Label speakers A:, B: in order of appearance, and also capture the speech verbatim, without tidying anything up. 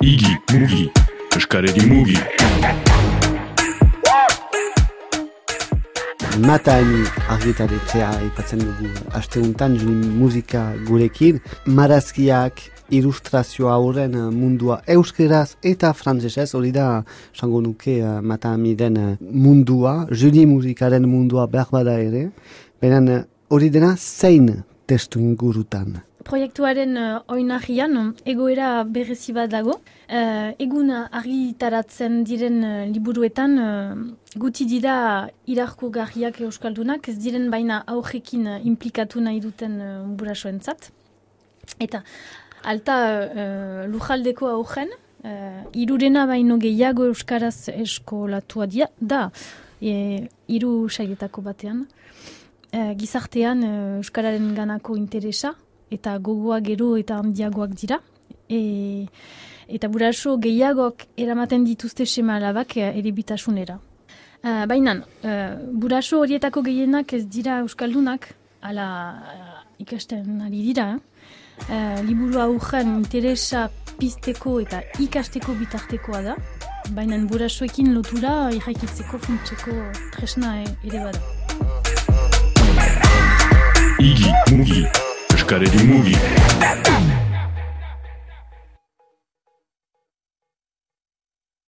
A: Igi, mugi, eskaredi mugi.
B: Matani argitaletxea ipatzen dugu aste untan, juni musika gurekin, marazkiak, ilustrazio hauren mundua euskeraz eta frantsesez, hori da, sango nuke Matami den mundua, juni musikaren mundua behar bada ere, benen hori dena zein testu ingurutan.
C: Proiektuaren uh, oinarrian egoera berezi bat dago. Uh, egun argitaratzen diren uh, liburuetan uh, guti dira irakurgarriak euskaldunak, ez diren baina aurrekin uh, implikatu nahi duten uh, burasoentzat. Eta alta uh, lujaldeko aurren, uh, irurena baino gehiago euskaraz eskolatua dia, da, e, hiru sailetako batean. Uh, gizartean uh, euskararen ganako interesa, eta gogoa gero eta handiagoak dira. E, eta buraso gehiagok eramaten dituzte sema alabak erebitasunera. Uh, Baina, uh, buraso horietako gehienak ez dira euskaldunak, ala uh, ikasten ari dira. Uh, liburu aurren interesa pizteko eta ikasteko bitartekoa da. Baina burasoekin lotura irraikitzeko funtseko tresna ere bada.
A: Igi, mugi, eskaredi mugi.